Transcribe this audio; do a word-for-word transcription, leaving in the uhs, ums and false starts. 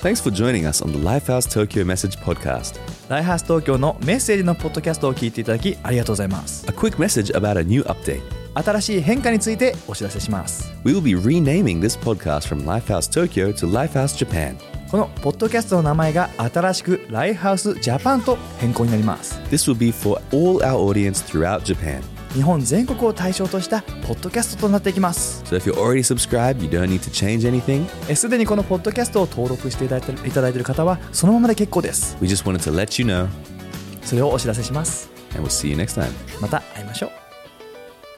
Thanks for joining us on the Lifehouse Tokyo Message podcast. ライハース東京のメッセージのポッドキャストを聞いていただきありがとうございます。 A quick message about a new update. 新しい変化についてお知らせします。 We will be renaming this podcast from Lifehouse Tokyo to Lifehouse Japan. このポッドキャストの名前が新しくライハウスジャパンと変更になります。 This will be for all our audience throughout Japan. 日本全国を対象としたポッドキャストとなっていきます。 So if you're already subscribed, you don't need to change anything. すでにこのポッドキャストを登録していただいていただいている方はそのままで結構です。 We just wanted to let you know. それをお知らせします。 And we'll see you next time. また会いましょう。